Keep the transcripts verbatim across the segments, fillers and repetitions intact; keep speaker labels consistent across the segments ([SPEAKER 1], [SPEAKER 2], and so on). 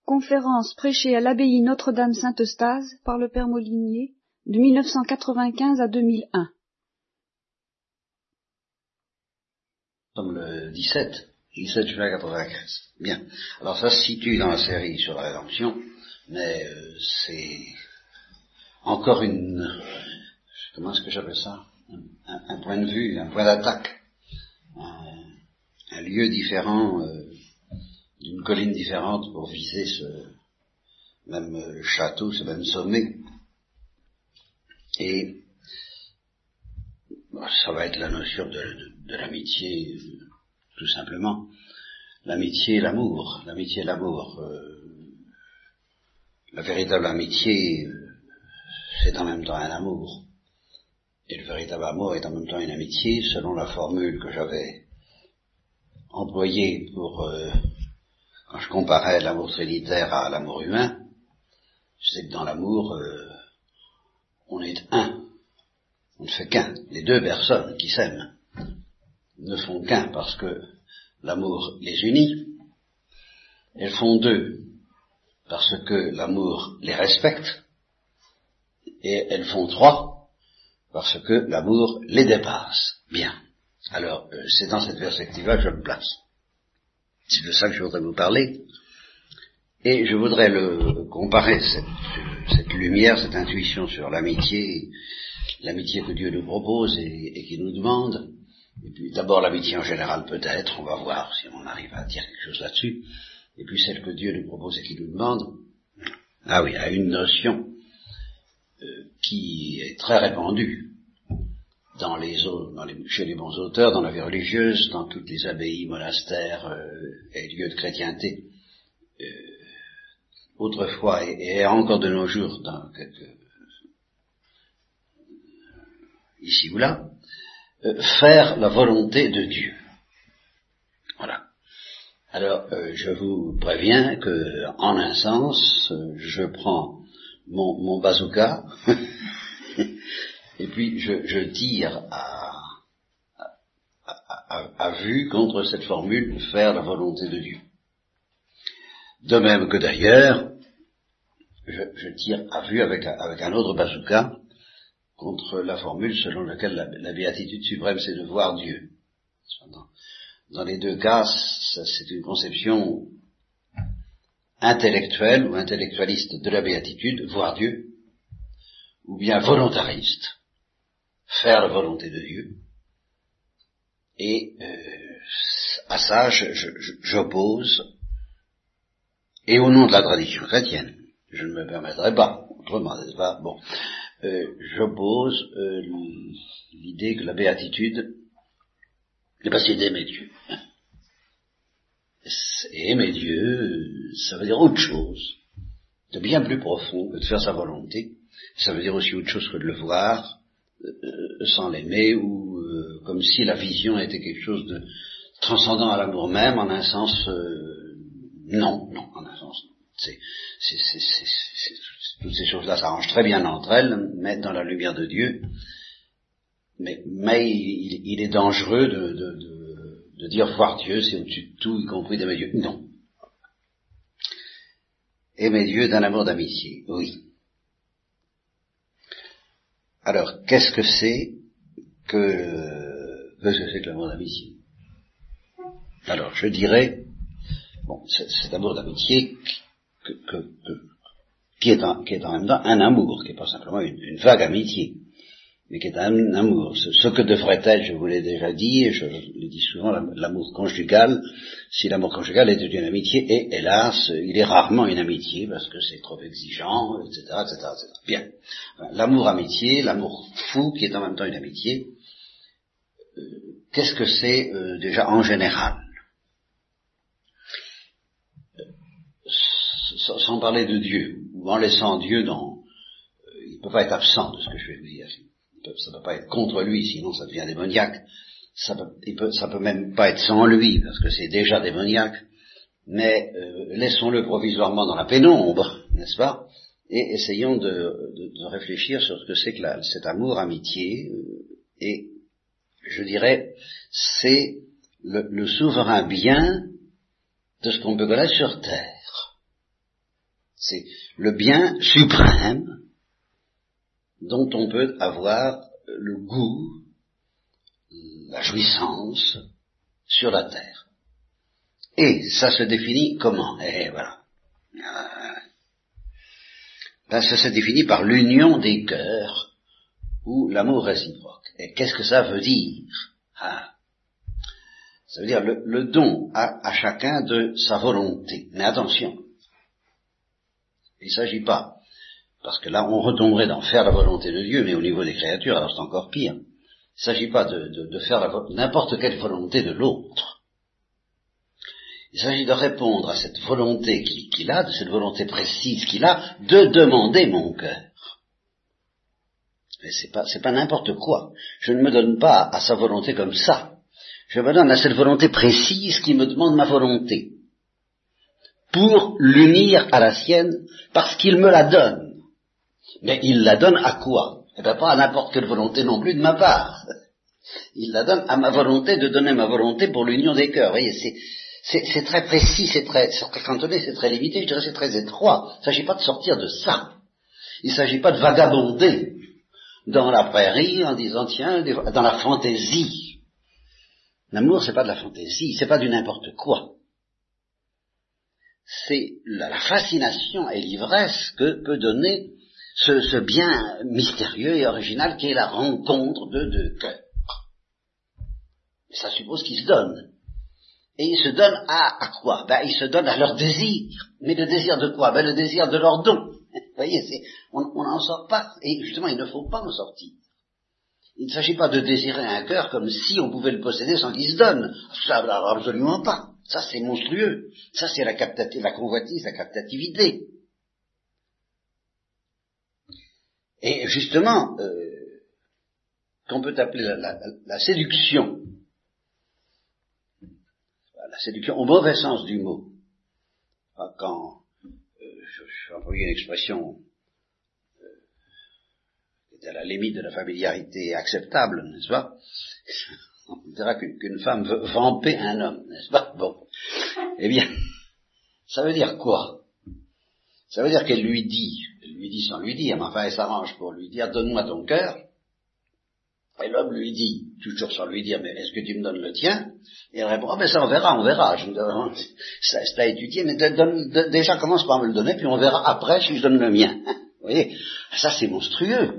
[SPEAKER 1] Conférence prêchée à l'abbaye Notre-Dame-Saint-Eustase par le père Molinier de mille neuf cent quatre-vingt-quinze à deux mille un.
[SPEAKER 2] Nous sommes le dix-sept, dix-sept juin quatre-vingt-quinze. Bien. Alors ça se situe dans la série sur la rédemption, mais euh, c'est encore une, comment est-ce que j'appelle ça, un, un point de vue, un point d'attaque, un, un lieu différent, euh, d'une colline différente pour viser ce même euh, château, ce même sommet. Et bah, ça va être la notion de, de, de l'amitié, euh, tout simplement. L'amitié et l'amour. L'amitié et l'amour. Euh, la véritable amitié, euh, c'est en même temps un amour. Et le véritable amour est en même temps une amitié, selon la formule que j'avais employée pour, euh, quand je comparais l'amour trinitaire à l'amour humain. Je sais que dans l'amour, euh, on est un. On ne fait qu'un. Les deux personnes qui s'aiment ne font qu'un parce que l'amour les unit. Elles font deux parce que l'amour les respecte. Et elles font trois parce que l'amour les dépasse. Bien. Alors, euh, c'est dans cette perspective-là que je me place. C'est de ça que je voudrais vous parler. Et je voudrais le comparer, cette, cette lumière, cette intuition sur l'amitié, l'amitié que Dieu nous propose et, et qui nous demande. Et puis d'abord l'amitié en général peut-être, on va voir si on arrive à dire quelque chose là-dessus. Et puis celle que Dieu nous propose et qui nous demande. Ah oui, à une notion euh, qui est très répandue dans les, dans les, chez les bons auteurs, dans la vie religieuse, dans toutes les abbayes, monastères euh, et lieux de chrétienté. Euh, autrefois et, et encore de nos jours, dans quelques, ici ou là, euh, faire la volonté de Dieu. Voilà. Alors, euh, je vous préviens que, en un sens, euh, je prends mon, mon bazooka et puis je, je tire à, à, à, à vue contre cette formule faire la volonté de Dieu. De même que d'ailleurs, je, je tire à vue avec, avec un autre bazooka contre la formule selon laquelle la, la béatitude suprême c'est de voir Dieu. Dans, dans les deux cas, c'est une conception intellectuelle ou intellectualiste de la béatitude, voir Dieu, ou bien volontariste, faire la volonté de Dieu. Et euh, à ça, je, je, j'oppose, et au nom de la tradition chrétienne, je ne me permettrai pas, autrement, n'est-ce pas, bon, euh, j'oppose euh, l'idée que la béatitude, c'est pas c'est d'aimer Dieu. Et aimer Dieu, ça veut dire autre chose, de bien plus profond que de faire sa volonté. Ça veut dire aussi autre chose que de le voir euh, sans l'aimer, ou euh, comme si la vision était quelque chose de transcendant à l'amour même, en un sens, euh, non, non, en un sens, non. C'est, c'est, c'est, c'est, c'est, toutes ces choses-là s'arrangent très bien entre elles, mais dans la lumière de Dieu. Mais, mais il, il est dangereux de, de, de, de dire voir Dieu, c'est au-dessus de tout, y compris d'aimer Dieu. Non. Aimer Dieu d'un amour d'amitié, oui. Alors, qu'est-ce que c'est que, qu'est-ce que c'est que l'amour d'amitié? Alors, je dirais, bon, cet amour d'amitié que, que, que, qui, est en, qui est en même temps un amour, qui n'est pas simplement une, une vague amitié, mais qui est un amour. Ce, ce que devrait être, je vous l'ai déjà dit, et je le dis souvent, l'amour conjugal, si l'amour conjugal était une amitié, et hélas, il est rarement une amitié, parce que c'est trop exigeant, et cetera, et cetera, et cetera. Bien. L'amour amitié, l'amour fou, qui est en même temps une amitié, euh, qu'est-ce que c'est euh, déjà en général? euh, Sans parler de Dieu, ou en laissant Dieu dans... Euh, il ne peut pas être absent de ce que je vais vous dire. Ça ne peut pas être contre lui, sinon ça devient démoniaque. Ça peut, il peut, ça peut même pas être sans lui, parce que c'est déjà démoniaque. Mais euh, laissons-le provisoirement dans la pénombre, n'est-ce pas? Et essayons de, de, de réfléchir sur ce que c'est que la, cet amour, amitié. Euh, et je dirais, c'est le, le souverain bien de ce qu'on peut connaître sur terre. C'est le bien suprême dont on peut avoir le goût, la jouissance sur la terre. Et ça se définit comment? Et voilà. Ben, ça se définit par l'union des cœurs ou l'amour réciproque. Et qu'est-ce que ça veut dire? Ah. Ça veut dire le, le don à, à chacun de sa volonté. Mais attention, il ne s'agit pas, parce que là on retomberait dans faire la volonté de Dieu, mais au niveau des créatures, alors c'est encore pire. Il ne s'agit pas de, de, de faire la, n'importe quelle volonté de l'autre. Il s'agit de répondre à cette volonté qu'il, qu'il a, de cette volonté précise qu'il a, de demander mon cœur. Mais c'est pas, c'est pas n'importe quoi. Je ne me donne pas à sa volonté comme ça. Je me donne à cette volonté précise qui me demande ma volonté, pour l'unir à la sienne, parce qu'il me la donne. Mais il la donne à quoi? Eh bien pas à n'importe quelle volonté non plus de ma part. Il la donne à ma volonté de donner ma volonté pour l'union des cœurs. Vous voyez, c'est, c'est, c'est très précis, c'est très, c'est très cantonné, c'est très limité, je dirais c'est très étroit. Il ne s'agit pas de sortir de ça. Il ne s'agit pas de vagabonder dans la prairie en disant, tiens, dans la fantaisie. L'amour, c'est pas de la fantaisie, c'est pas du n'importe quoi. C'est la, la fascination et l'ivresse que peut donner ce, ce bien mystérieux et original qui est la rencontre de deux cœurs. Ça suppose qu'ils se donnent. Et ils se donnent à, à quoi? Ben, ils se donnent à leur désir. Mais le désir de quoi? Ben, le désir de leur don. Vous voyez, c'est, on n'en sort pas. Et justement, il ne faut pas en sortir. Il ne s'agit pas de désirer un cœur comme si on pouvait le posséder sans qu'il se donne. Ça, absolument pas. Ça, c'est monstrueux. Ça, c'est la, captati- la convoitise, la captativité. Et justement, euh, qu'on peut appeler la, la, la séduction, la séduction au mauvais sens du mot, quand, euh, je, je vais employer une expression à la limite de la familiarité acceptable, n'est-ce pas? On dira qu'une, qu'une femme veut vamper un homme, n'est-ce pas? Bon. Eh bien, ça veut dire quoi? Ça veut dire qu'elle lui dit, elle lui dit sans lui dire, mais enfin elle s'arrange pour lui dire, donne-moi ton cœur. Et l'homme lui dit, toujours sans lui dire, mais est-ce que tu me donnes le tien? Et elle répond, ah ben ça on verra, on verra, je, ça, c'est à étudier, mais de, de, de, déjà commence par me le donner, puis on verra après si je donne le mien. Vous voyez? Ça c'est monstrueux.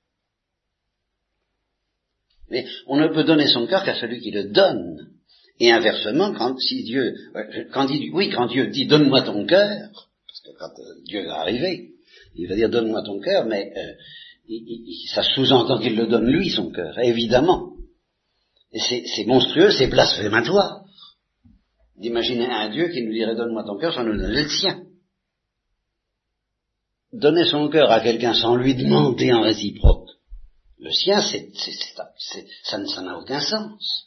[SPEAKER 2] Mais on ne peut donner son cœur qu'à celui qui le donne. Et inversement, quand si Dieu, quand dit, oui, quand Dieu dit donne-moi ton cœur, parce que quand euh, Dieu va arriver, il va dire donne-moi ton cœur, mais euh, il, il, ça sous-entend qu'il le donne lui son cœur, évidemment. Et c'est, c'est monstrueux, c'est blasphématoire d'imaginer un Dieu qui nous dirait donne-moi ton cœur sans nous donner le sien. Donner son cœur à quelqu'un sans lui demander en réciproque le sien, c'est, c'est, c'est, c'est, ça, ça n'a aucun sens.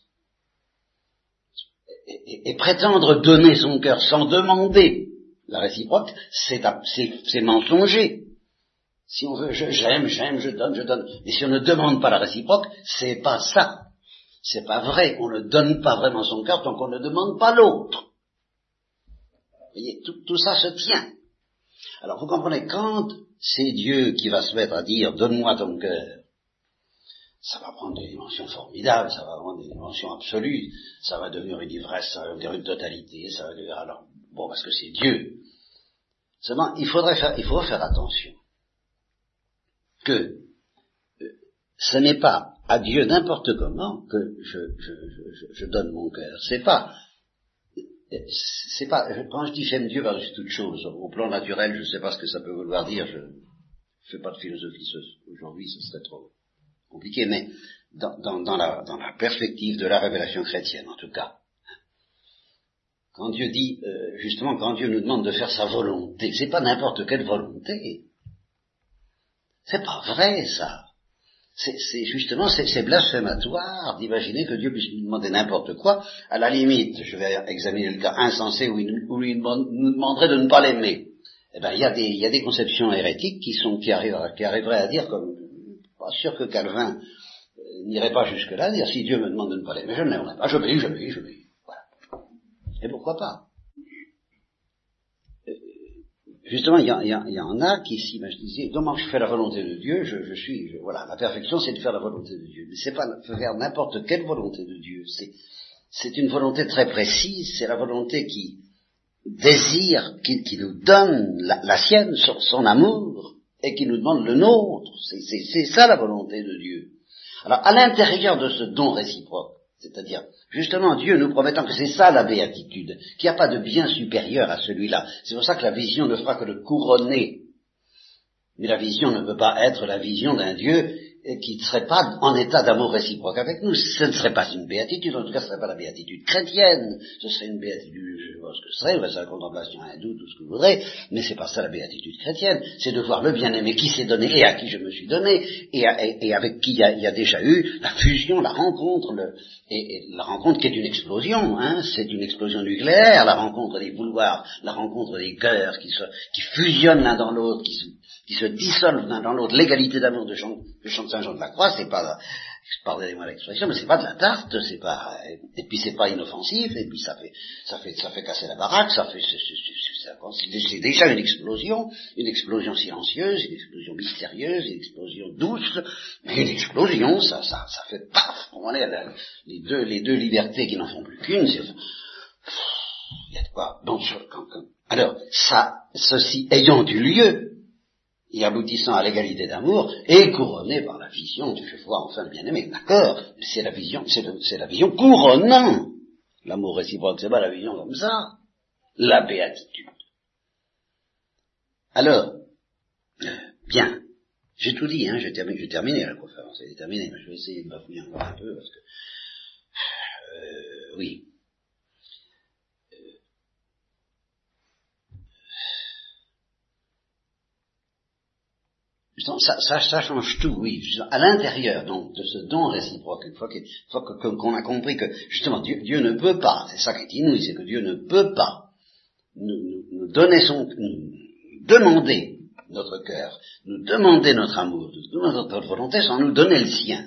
[SPEAKER 2] Et, et, et prétendre donner son cœur sans demander la réciproque, c'est, c'est, c'est mensonger. Si on veut, je, j'aime, j'aime, je donne, je donne. Mais si on ne demande pas la réciproque, c'est pas ça. C'est pas vrai. On ne donne pas vraiment son cœur tant qu'on ne demande pas l'autre. Vous voyez, tout, tout ça se tient. Alors vous comprenez, quand c'est Dieu qui va se mettre à dire donne-moi ton cœur, ça va prendre des dimensions formidables, ça va prendre des dimensions absolues, ça va devenir une ivresse, ça va devenir une totalité, ça va devenir alors, bon, parce que c'est Dieu. Seulement, il faudrait faire, il faut faire attention que euh, ce n'est pas à Dieu n'importe comment que je, je, je, je donne mon cœur. C'est pas, c'est pas, quand je dis j'aime Dieu par-dessus toute chose, au plan naturel, je ne sais pas ce que ça peut vouloir dire, je ne fais pas de philosophie aujourd'hui, ce serait trop compliqué, mais dans, dans, dans, la, dans la perspective de la révélation chrétienne, en tout cas. Quand Dieu dit, euh, justement, quand Dieu nous demande de faire sa volonté, c'est pas n'importe quelle volonté. C'est pas vrai, ça. C'est, c'est justement, c'est, c'est blasphématoire d'imaginer que Dieu puisse nous demander n'importe quoi. À la limite, je vais examiner le cas insensé où il, où il nous demanderait de ne pas l'aimer. Eh ben, il y a des, il y a des conceptions hérétiques qui sont, qui arrivent, qui arriveraient à dire comme, pas sûr que Calvin euh, n'irait pas jusque-là, dire si Dieu me demande de ne pas l'aimer, je ne l'aimerai pas, j'obéis, j'obéis, j'obéis. Voilà. Et pourquoi pas? euh, justement, il y, y, y en a qui s'imaginaient, comment je fais la volonté de Dieu, je, je suis, je, voilà, la perfection c'est de faire la volonté de Dieu. Mais c'est pas faire n'importe quelle volonté de Dieu, c'est, c'est une volonté très précise, c'est la volonté qui désire, qui, qui nous donne la, la sienne, son, son amour, et qui nous demande le nôtre. C'est, c'est, c'est ça la volonté de Dieu. Alors, à l'intérieur de ce don réciproque, c'est-à-dire, justement, Dieu nous promettant que c'est ça la béatitude, qu'il n'y a pas de bien supérieur à celui-là. C'est pour ça que la vision ne fera que le couronner. Mais la vision ne peut pas être la vision d'un Dieu qui ne serait pas en état d'amour réciproque avec nous. Ce ne serait pas une béatitude, en tout cas ce ne serait pas la béatitude chrétienne, ce serait une béatitude, je sais pas ce que ce serait, c'est la contemplation hindoue, tout ce que vous voudrez, mais c'est pas ça la béatitude chrétienne, c'est de voir le bien-aimé qui s'est donné et à qui je me suis donné, et, à, et, et avec qui il y, a, il y a déjà eu la fusion, la rencontre, le, et, et la rencontre qui est une explosion, hein, c'est une explosion nucléaire, la rencontre des vouloirs, la rencontre des cœurs qui, se, qui fusionnent l'un dans l'autre, qui se qui se dissolvent l'un dans l'autre. L'égalité d'amour de chante, de chante Saint Jean de la Croix, c'est pas, pardonnez-moi l'expression, mais c'est pas de la tarte, c'est pas, et puis c'est pas inoffensif, et puis ça fait, ça fait, ça fait casser la baraque, ça fait, c'est, c'est, c'est, c'est déjà une explosion, une explosion silencieuse, une explosion mystérieuse, une explosion douce, mais une explosion, ça, ça, ça fait paf, on est là, les deux, les deux libertés qui n'en font plus qu'une, c'est, il y a de quoi, bon, quand, quand, alors, ça, ceci ayant eu lieu, et aboutissant à l'égalité d'amour, et couronné par la vision du je vois enfin le bien-aimé. D'accord, c'est la vision, c'est, le, c'est la vision couronnant l'amour réciproque, c'est pas la vision comme ça, la béatitude. Alors, bien, j'ai tout dit, hein, j'ai terminé, j'ai terminé la conférence, elle est terminée, mais je vais essayer de bafouiller encore un peu, parce que, euh, oui. Ça, ça, ça change tout, oui. À l'intérieur donc de ce don réciproque, une fois, une fois que, qu'on a compris que justement Dieu, Dieu ne peut pas, c'est ça qui est inouï, c'est que Dieu ne peut pas nous, nous, nous donner son, nous demander notre cœur, nous demander notre amour, nous demander notre volonté sans nous donner le sien.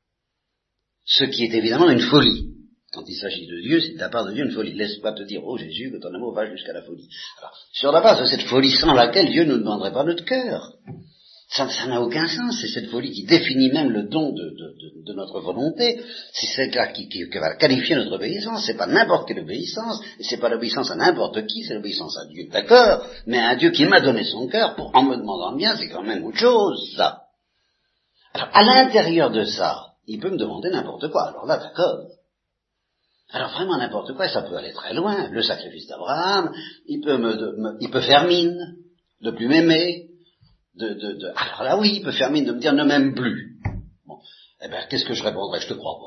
[SPEAKER 2] Ce qui est évidemment une folie. Quand il s'agit de Dieu, c'est de la part de Dieu une folie. Laisse pas te dire, oh Jésus, que ton amour va jusqu'à la folie. Alors, sur la base de cette folie sans laquelle Dieu ne nous demanderait pas notre cœur. Ça, ça n'a aucun sens, c'est cette folie qui définit même le don de, de, de, de notre volonté, c'est celle-là qui, qui, qui va qualifier notre obéissance, c'est pas n'importe quelle obéissance, et c'est pas l'obéissance à n'importe qui, c'est l'obéissance à Dieu, d'accord, mais à un Dieu qui m'a donné son cœur, pour, en me demandant le bien, c'est quand même autre chose, ça. Alors, à l'intérieur de ça, il peut me demander n'importe quoi, alors là, d'accord. Alors vraiment n'importe quoi, ça peut aller très loin, le sacrifice d'Abraham, il peut me, de, me il peut faire mine, de plus m'aimer, De, de, de, alors là oui, il peut faire mine de me dire ne m'aime plus. Bon, eh ben qu'est-ce que je répondrais? Je te crois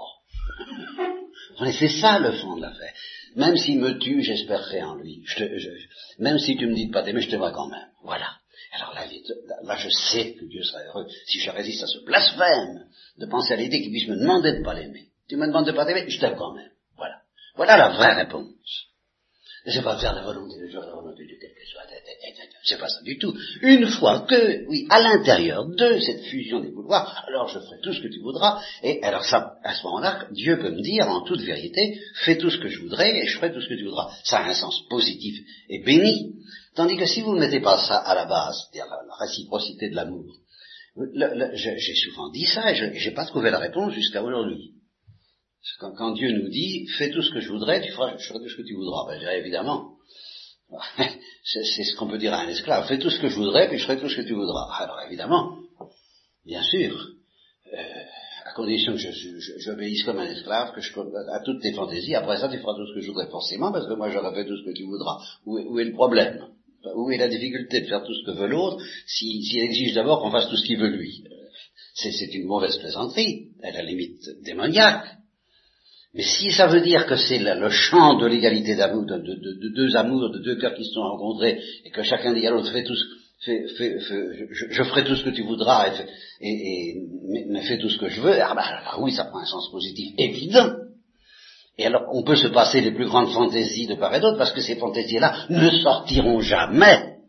[SPEAKER 2] pas. Mais c'est ça le fond de l'affaire. Même s'il me tue, j'espérerai en lui. Je te, je, même si tu me dis de pas t'aimer, je t'aimerai quand même. Voilà. Alors là, là, je sais que Dieu serait heureux si je résiste à ce blasphème de penser à l'idée qu'il puisse me demander de pas l'aimer. Tu me demandes de pas t'aimer, je t'aime quand même. Voilà. Voilà la vraie réponse. C'est pas faire la volonté de Dieu, la volonté de Dieu, quelle que soit, c'est pas ça du tout. Une fois que, oui, à l'intérieur de cette fusion des vouloirs, alors je ferai tout ce que tu voudras, et alors ça, à ce moment-là, Dieu peut me dire en toute vérité, fais tout ce que je voudrais, et je ferai tout ce que tu voudras. Ça a un sens positif et béni. Tandis que si vous ne mettez pas ça à la base, c'est-à-dire la, la réciprocité de l'amour, le, le, j'ai souvent dit ça, et je n'ai pas trouvé la réponse jusqu'à aujourd'hui. Quand, quand Dieu nous dit, fais tout ce que je voudrais, tu feras, je ferai tout ce que tu voudras. Ben, je dirais évidemment, c'est, c'est ce qu'on peut dire à un esclave, fais tout ce que je voudrais, puis je ferai tout ce que tu voudras. Alors évidemment, bien sûr, euh, à condition que je, je, j'obéisse comme un esclave, que je, à toutes tes fantaisies, après ça tu feras tout ce que je voudrais forcément, parce que moi j'aurais fait tout ce que tu voudras. Où est, où est le problème? Où est la difficulté de faire tout ce que veut l'autre, s'il si, si exige d'abord qu'on fasse tout ce qu'il veut lui? C'est, c'est une mauvaise plaisanterie, à la limite démoniaque. Mais si ça veut dire que c'est le, le champ de l'égalité d'amour, de, de, de, de deux amours, de deux cœurs qui se sont rencontrés, et que chacun dit à l'autre, fais tout ce, fais, fais, fais, je, je ferai tout ce que tu voudras, et, et, et mais, mais fais tout ce que je veux, ah ben alors oui, ça prend un sens positif évident. Et alors, on peut se passer les plus grandes fantaisies de part et d'autre, parce que ces fantaisies-là ne sortiront jamais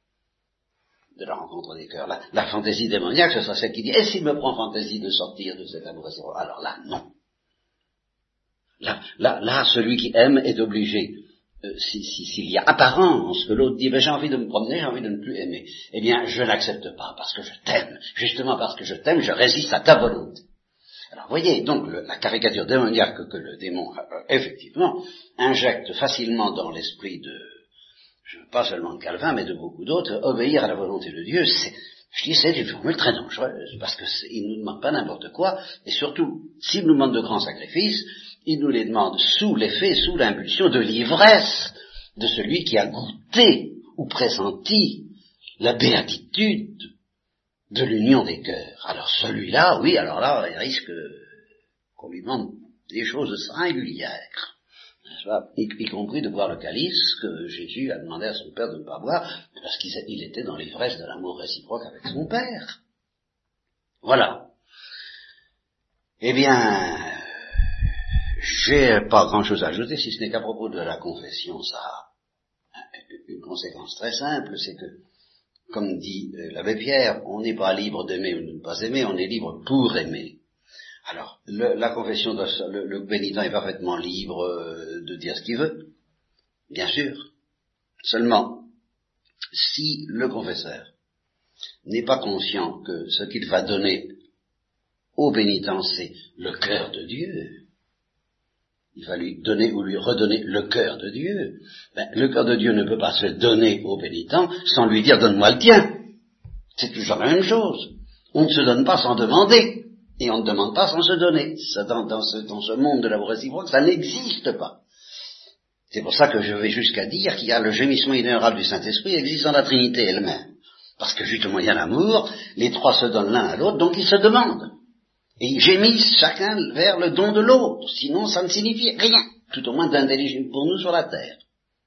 [SPEAKER 2] de la rencontre des cœurs. La, la fantaisie démoniaque, ce sera celle qui dit, et s'il me prend fantaisie de sortir de cet amour, alors là, non. Là, là, là, celui qui aime est obligé euh, si, si, s'il y a apparence que l'autre dit, ben, j'ai envie de me promener, j'ai envie de ne plus aimer, eh bien, je n'accepte pas, parce que je t'aime. Justement parce que je t'aime, je résiste à ta volonté. Alors, voyez, donc, le, la caricature démoniaque que, que le démon, euh, effectivement, injecte facilement dans l'esprit de, je veux pas seulement de Calvin, mais de beaucoup d'autres, obéir à la volonté de Dieu, c'est, je dis, c'est une formule très dangereuse, parce qu'il ne nous demande pas n'importe quoi, et surtout, s'il nous demande de grands sacrifices, il nous les demande sous l'effet, sous l'impulsion de l'ivresse de celui qui a goûté ou pressenti la béatitude de l'union des cœurs. Alors celui-là, oui, alors là, il risque qu'on lui demande des choses singulières, n'est-ce pas, y, y compris de boire le calice que Jésus a demandé à son Père de ne pas boire, parce qu'il il était dans l'ivresse de l'amour réciproque avec son Père. Voilà. Eh bien, j'ai pas grand-chose à ajouter, si ce n'est qu'à propos de la confession, ça a une conséquence très simple, c'est que, comme dit l'abbé Pierre, on n'est pas libre d'aimer ou de ne pas aimer, on est libre pour aimer. Alors, le, la confession, doit, le, le pénitent est parfaitement libre de dire ce qu'il veut, bien sûr. Seulement, si le confesseur n'est pas conscient que ce qu'il va donner au pénitent, c'est le cœur de Dieu, il va lui donner ou lui redonner le cœur de Dieu. Ben, le cœur de Dieu ne peut pas se donner au pénitent sans lui dire donne-moi le tien. C'est toujours la même chose. On ne se donne pas sans demander, et on ne demande pas sans se donner. Ça, dans, dans, ce, dans ce monde de l'amour réciproque, ça n'existe pas. C'est pour ça que je vais jusqu'à dire qu'il y a le gémissement inébranlable du Saint-Esprit existe dans la Trinité elle-même. Parce que justement il y a l'amour, les trois se donnent l'un à l'autre, donc ils se demandent. Et ils gémissent chacun vers le don de l'autre, sinon ça ne signifie rien, tout au moins d'intelligible pour nous sur la terre.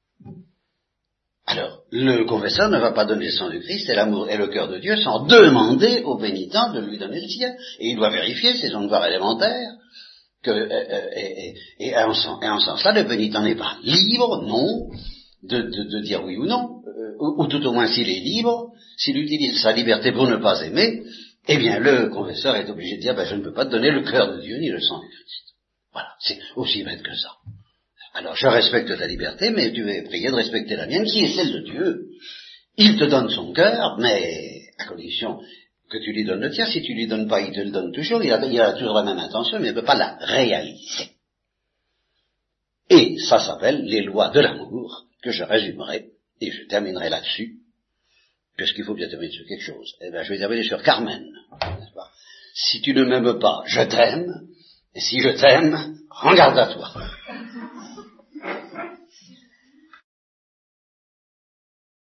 [SPEAKER 2] Alors, le confesseur ne va pas donner le sang du Christ et l'amour et le cœur de Dieu sans demander au pénitent de lui donner le sien. Et il doit vérifier, c'est son devoir élémentaire, que, euh, et, et, et en ce sens-là, le pénitent n'est pas libre, non, de, de, de dire oui ou non, euh, ou, ou tout au moins s'il est libre, s'il utilise sa liberté pour ne pas aimer, eh bien, le confesseur est obligé de dire, ben, je ne peux pas te donner le cœur de Dieu ni le sang du Christ. Voilà, c'est aussi bête que ça. Alors, je respecte ta liberté, mais tu es prié de respecter la mienne, qui est celle de Dieu. Il te donne son cœur, mais à condition que tu lui donnes le tien. Si tu lui donnes pas, il te le donne toujours. Il a, il a toujours la même intention, mais il ne peut pas la réaliser. Et ça s'appelle les lois de l'amour, que je résumerai, et je terminerai là-dessus. Puisqu'il faut bien terminer sur quelque chose. Eh bien, je vais terminer sur Carmen, n'est-ce pas? Si tu ne m'aimes pas, je t'aime, et si je t'aime, rends garde à toi.